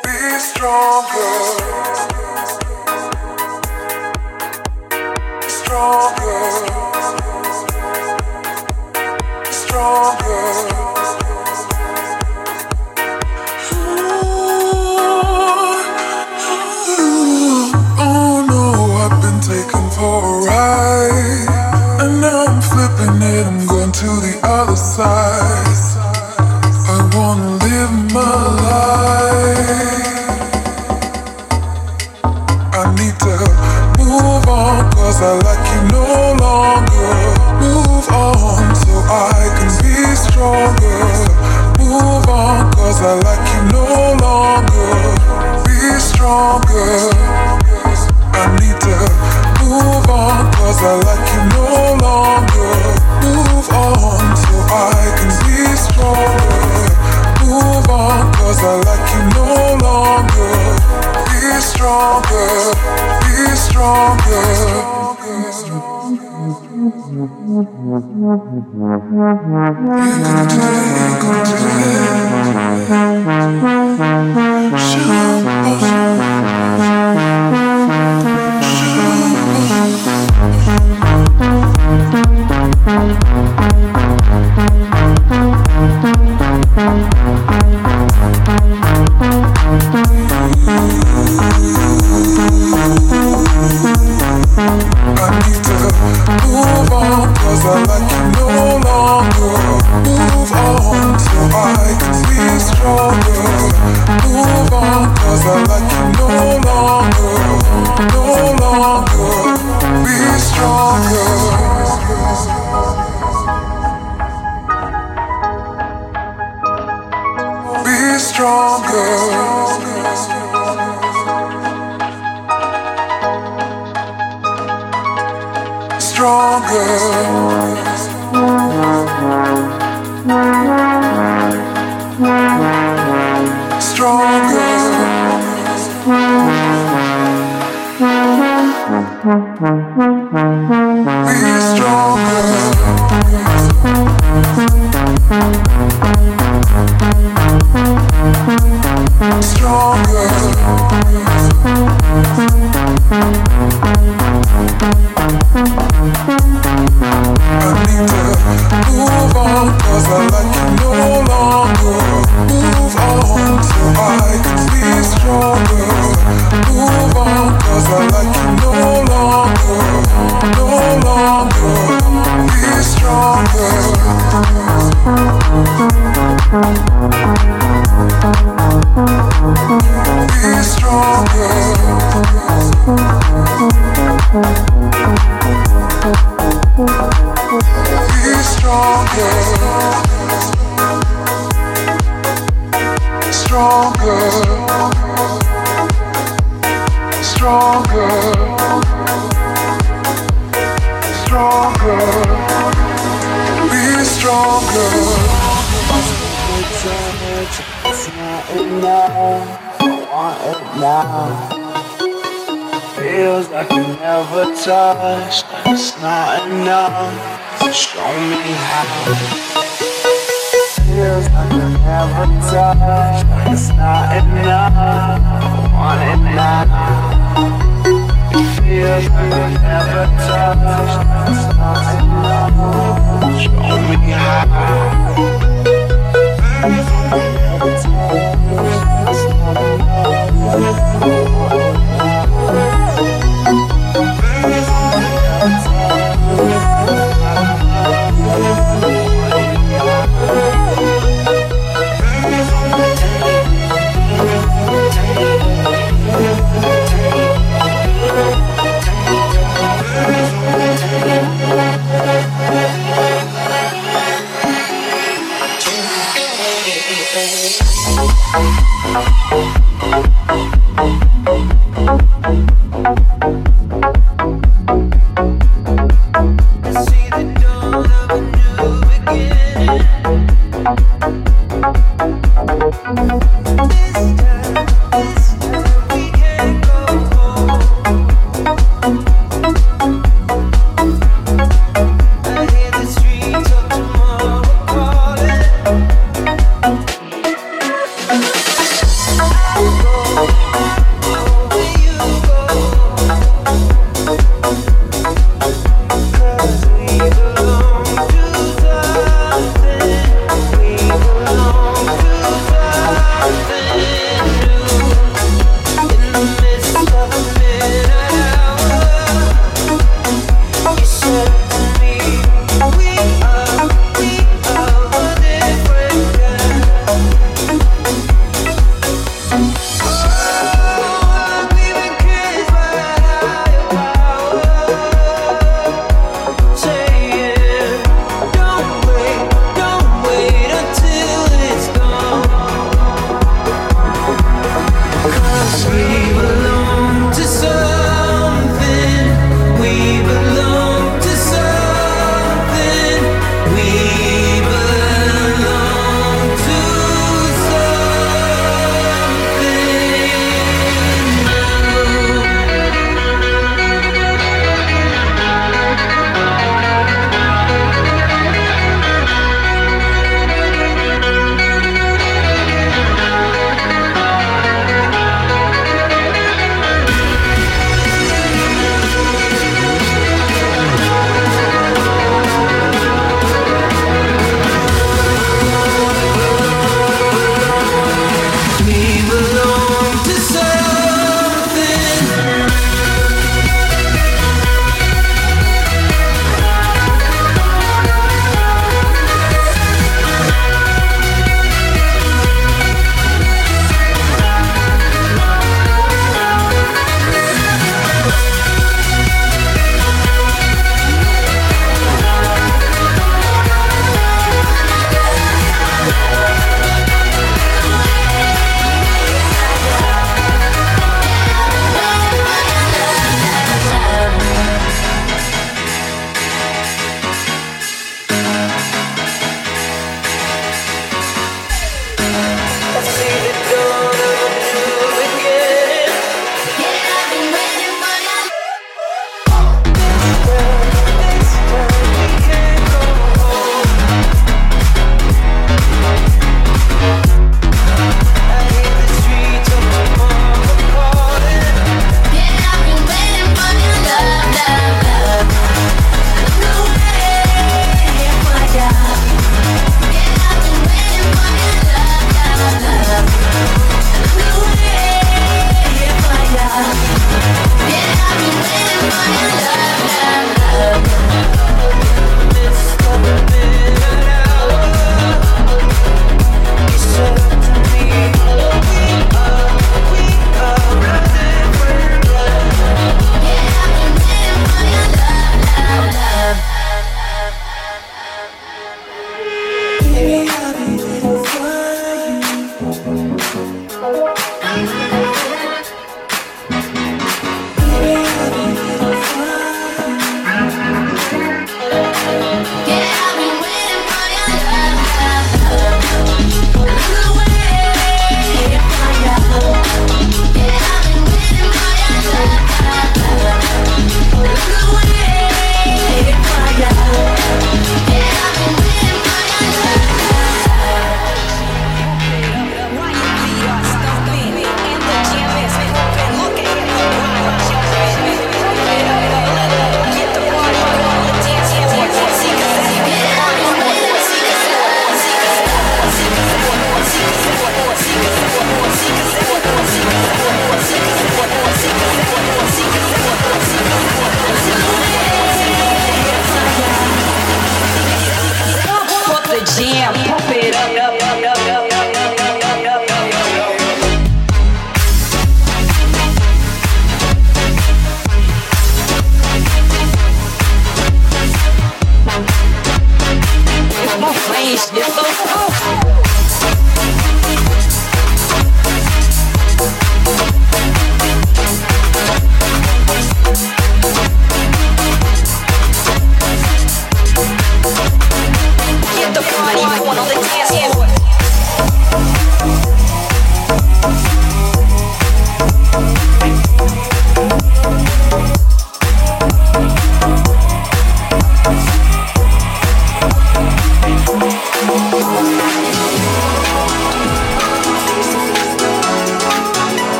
Be stronger, stronger, stronger. Oh no, I've been taken for a ride, and now I'm flipping it, I'm going to the other side. I wanna live my life. I need to move on, cause I like you no longer. Move on so I can be stronger. Move on, cause I like you no longer. Be stronger. I need to move on, cause I like you no longer. Move on so I can be stronger. Move on, cause I like you no longer. Be stronger, be stronger. You can do it, you can do it. I need to move on, cause I like you no longer. Move on so I can be stronger. Move on, cause I like you no longer. No longer. Be stronger. Be stronger. Stronger. Stronger. Be stronger. Stronger. I need to move on, cause I like you no longer. Move on so I can be stronger. Move on, cause I like you no longer. No longer. Be stronger. Be stronger. Be stronger. Stronger. Stronger. Stronger. Be stronger. It's not enough. I want it now. Feels like you never touched. It's not enough. So show me how. Feels like you never touched. It's not enough. I want it now. Feels like you never touched. It's not enough. Show me how. Oh,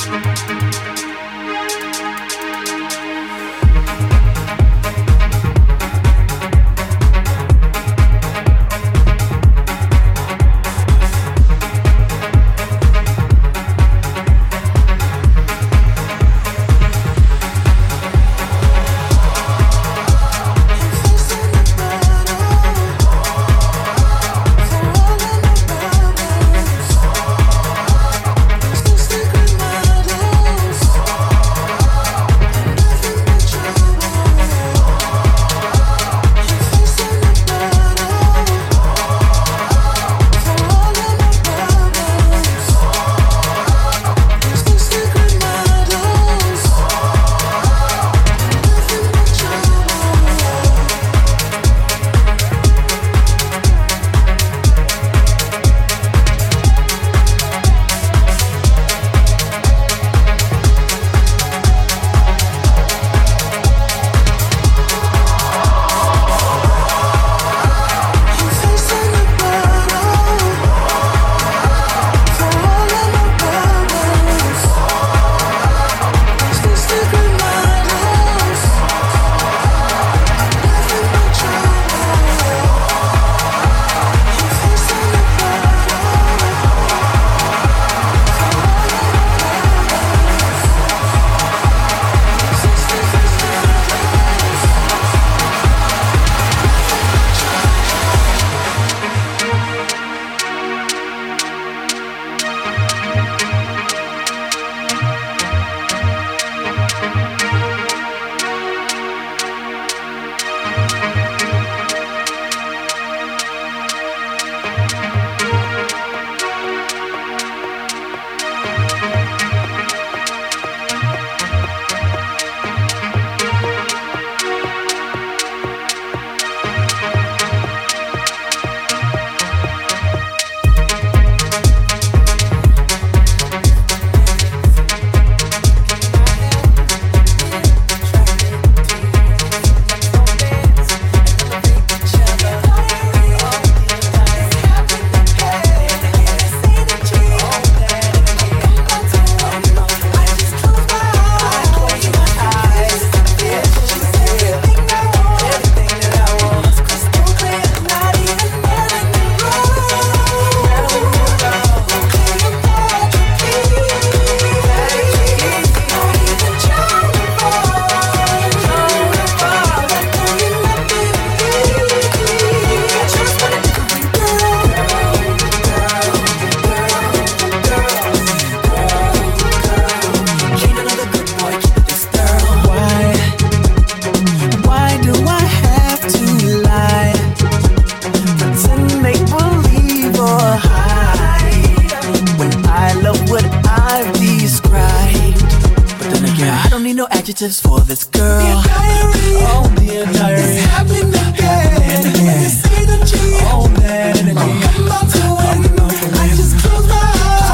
adjectives for this girl. The diary, oh, the diary. It's happening again. When you see the G, oh, that energy. I'm about to win. I just close my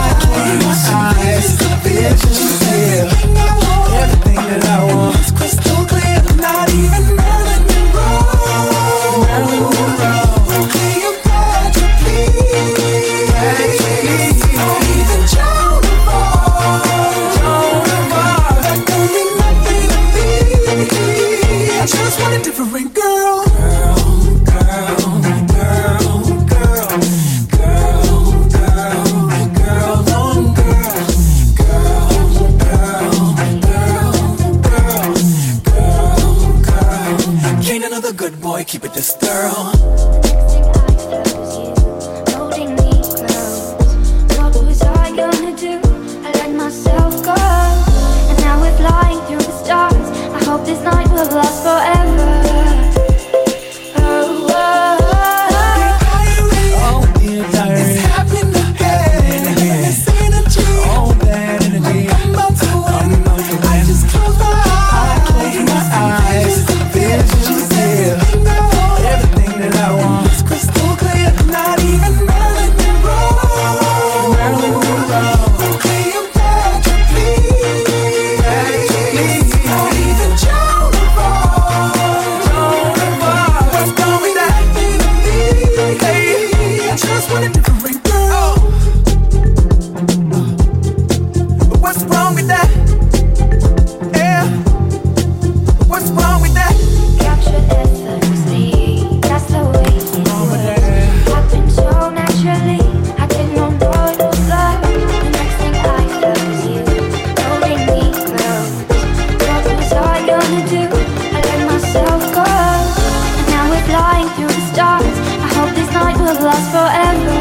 eyes. Visions here. Everything that I want. It's crystal clear. Not even Marilyn Monroe. Marilyn Monroe. Okay, you got to please. Not even Joan of Arc. That don't mean nothing to me. I just want a different girl. Good boy, keep it this girl. Holding me close. What was I gonna do? I let myself go, and now we're flying through the stars. I hope this night will last forever. Oh, oh, dear diary. It's happening again. This energy, oh, that energy. I'm about to win. I just close my eyes. Visions here. Everything that I want. It's crystal clear. Not even Marilyn Monroe. Marilyn Monroe. Okay, you got to please. Not even Joan of Arc. that? Yeah. What's wrong with that? Capture effortlessly, that's the way it is. Happened so naturally, I didn't know it was love. The next thing I felt was you, holding me close. What was I gonna do? I let myself go, and now we're flying through the stars. I hope this night will last forever.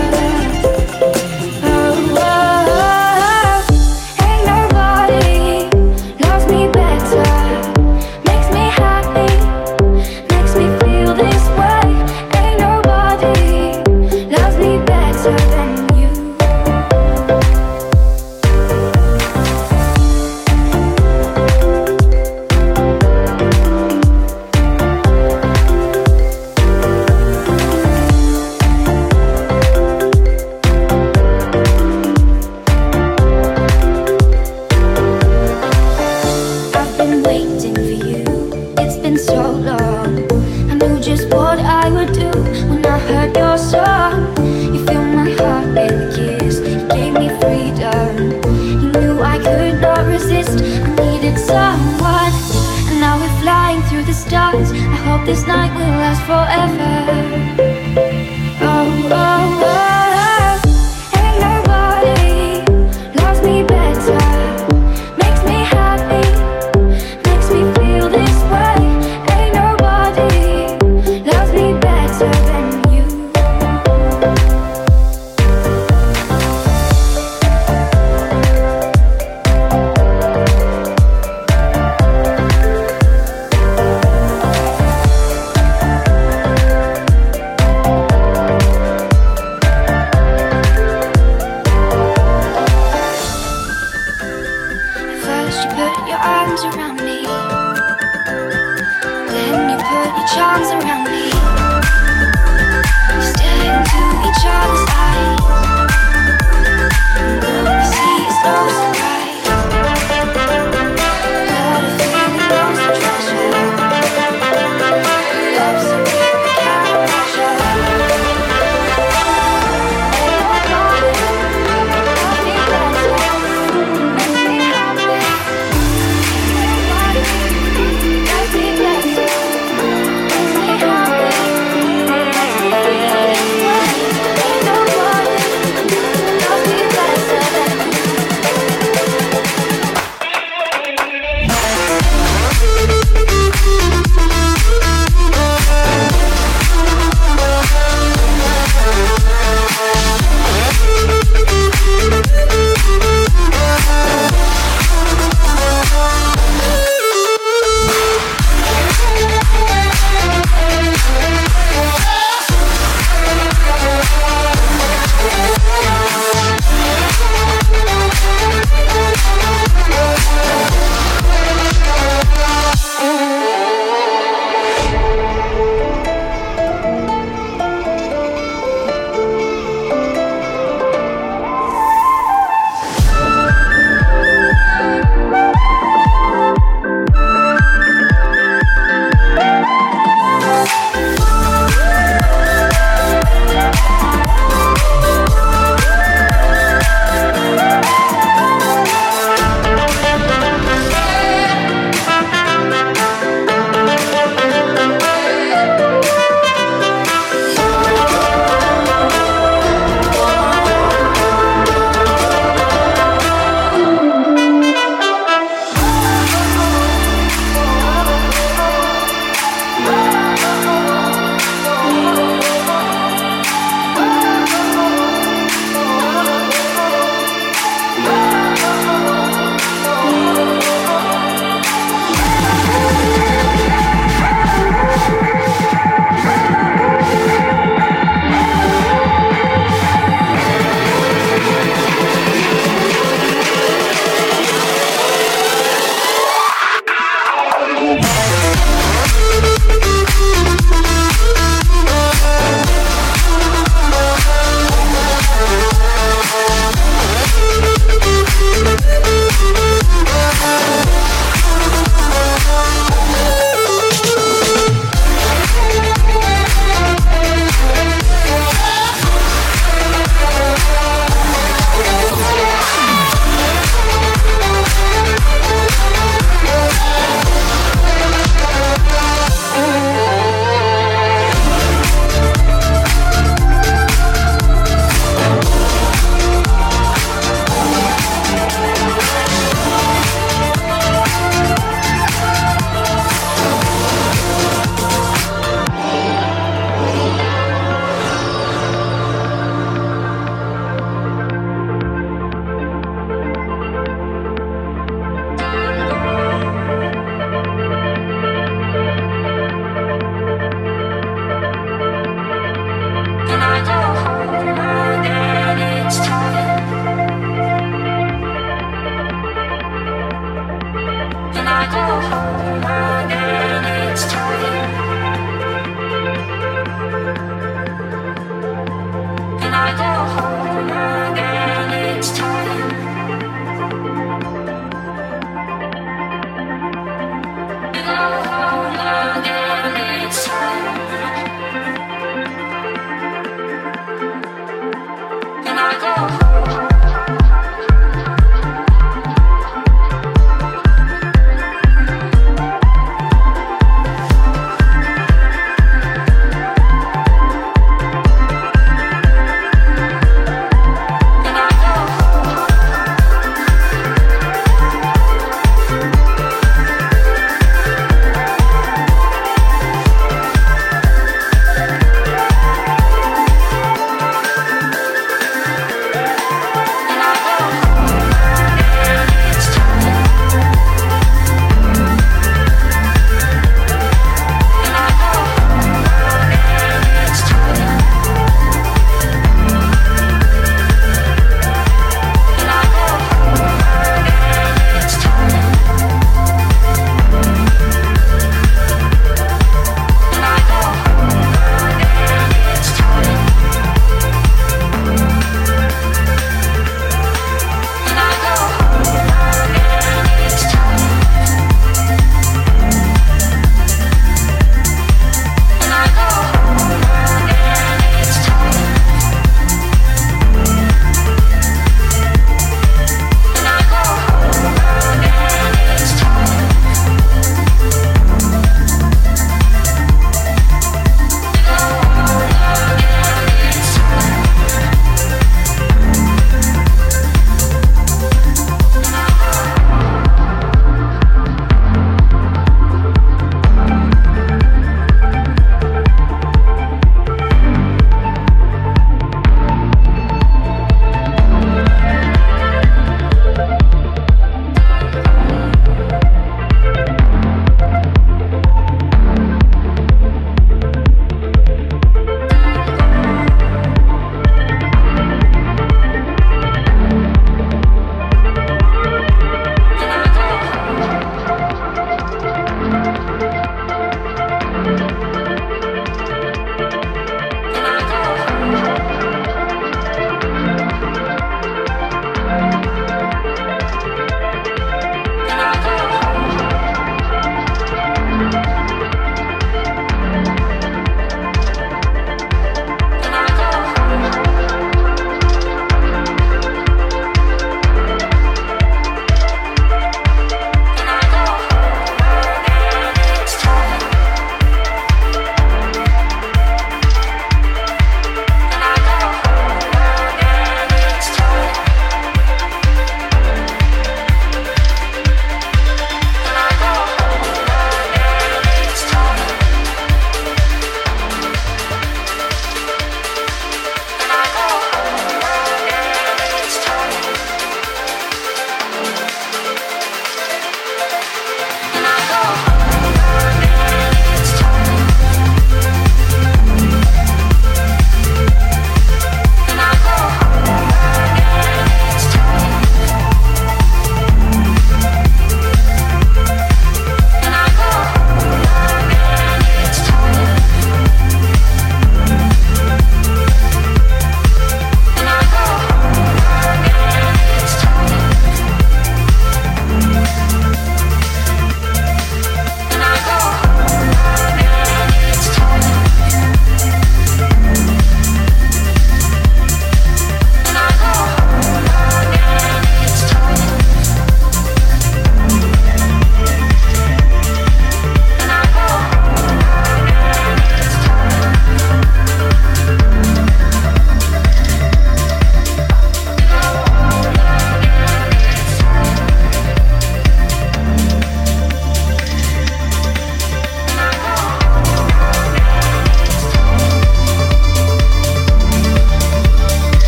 This night will last forever. Oh, oh, oh. Ain't nobody loves me better. Makes me happy, makes me feel this way. Ain't nobody loves me better than you. Happy.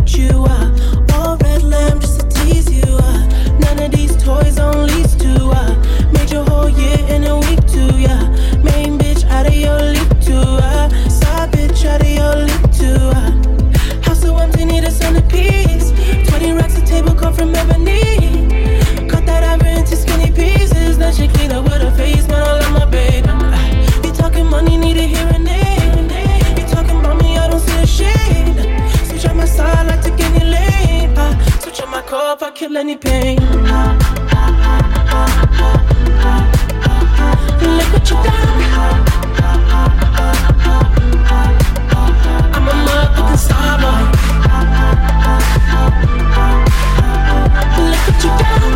at you. All red lamb just to tease you. None of these toys on lease to. Made your whole year in a week too. Yeah, main bitch out of your league too. Side bitch out of your league too. House so empty, need a centerpiece. 20 racks a table come from ebony. Cut that ever into skinny pieces. Then she clean up with her face, man, I love my baby. You talking money, need a hearing aid. You talking about me, I don't see a shade. Switch on my side, like to get any lane. Switch on my car if I kill any pain. Look what you done. I'm a motherfucking star boy. Look what you done.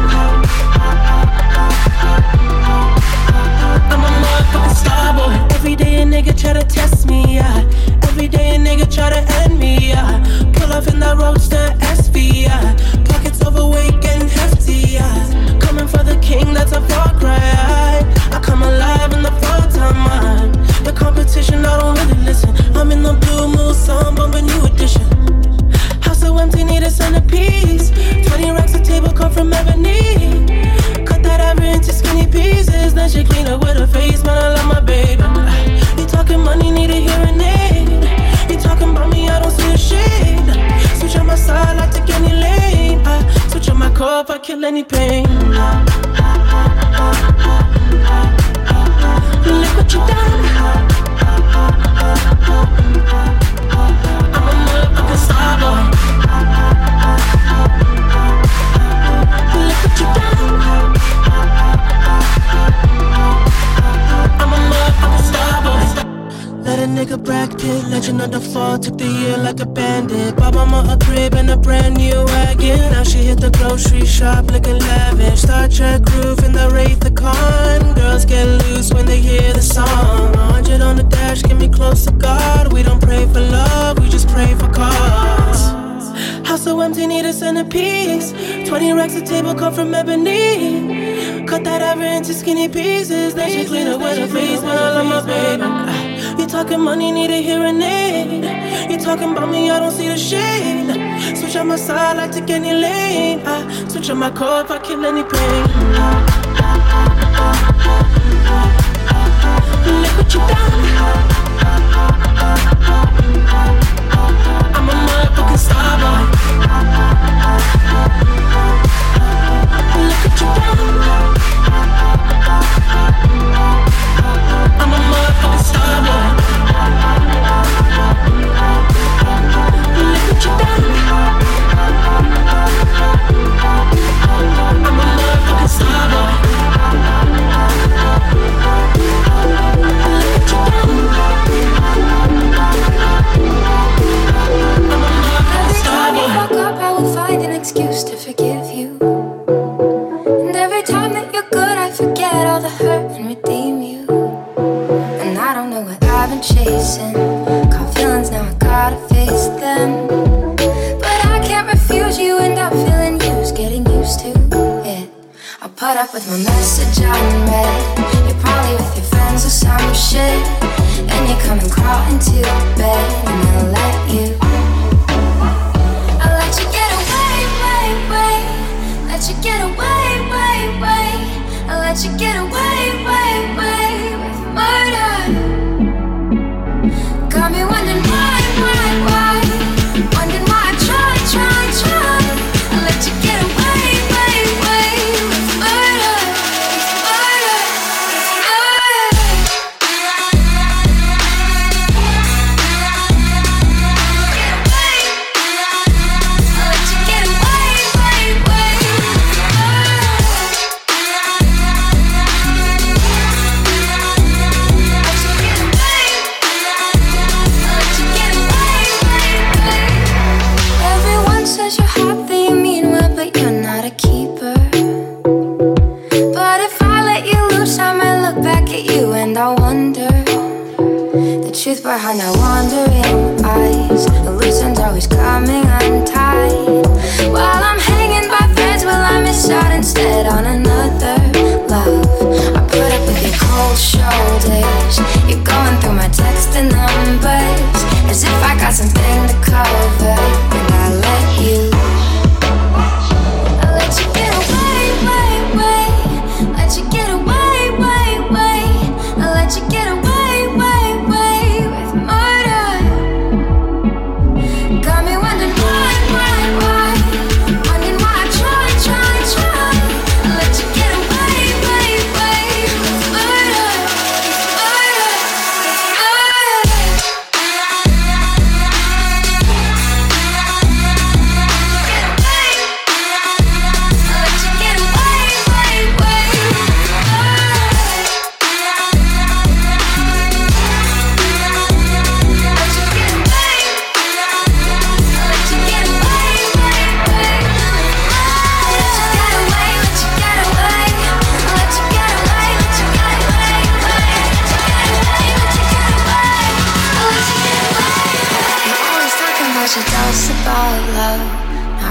I'm a motherfucking star boy. Every day a nigga try to test me, yeah. Every day a nigga try to end me, yeah. Pull off in that roadster SV, yeah. Pockets overweight, getting hefty, yeah. Coming for the king, that's a far cry. I come alive in the fall time. The competition, I don't really listen. I'm in the blue moon, song, bumping new edition. House so empty, need a centerpiece. 20 racks a table come from ebony. Cut that ever into skinny pieces. Then she clean up with her face, man, I love my baby. You talking money, need a hearing aid. You talking about me, I don't see a shade. Switch on my side, like take any lane. Switch on my car if I kill any pain. Look what you done. I'm a motherfucking star boy. Look what you done. I'm a motherfucking star boy. Let a nigga bracket, legend of the fall. Took the year like a bandit. Bought mama a crib and a brand new wagon. Now she hit the grocery shop looking lavish. Star Trek roof in the Wraith the Con. Girls get loose when they hear the song. 100 on the dash, get me close to God. We don't pray for love, we just pray for cause. House so empty, need a centerpiece. 20 racks a table come from ebony. Cut that ever into skinny pieces. Then she clean up with her face, man, I love my baby. You talking money, need a hearing aid. You talking about me, I don't see the shade. Switch on my side, like take any lane. Switch on my car if I kill any pain. Look what you done. I'm a motherfucking star boy. Look what you done. I'm a motherfucking star boy. Look what you done. I'm a motherfucking star boy. Excuse to forgive you. And every time that you're good, I forget all the hurt and redeem you. And I don't know what I've been chasing. Caught feelings, now I gotta face them. But I can't refuse you, and I'm feeling used, getting used to it. I'll put up with my message unread. You're probably with your friends or some shit. And you come and crawl into bed, and I'll let you. Let you get away, way, way. I let you get away, way, way with murder. Got me wondering why, wondering why I try. I let you get away, way, way with murder, murder, murder.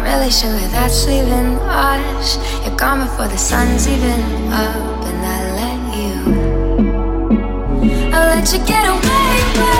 really sure that's leaving us. You're gone before the sun's even up, and I let you get away.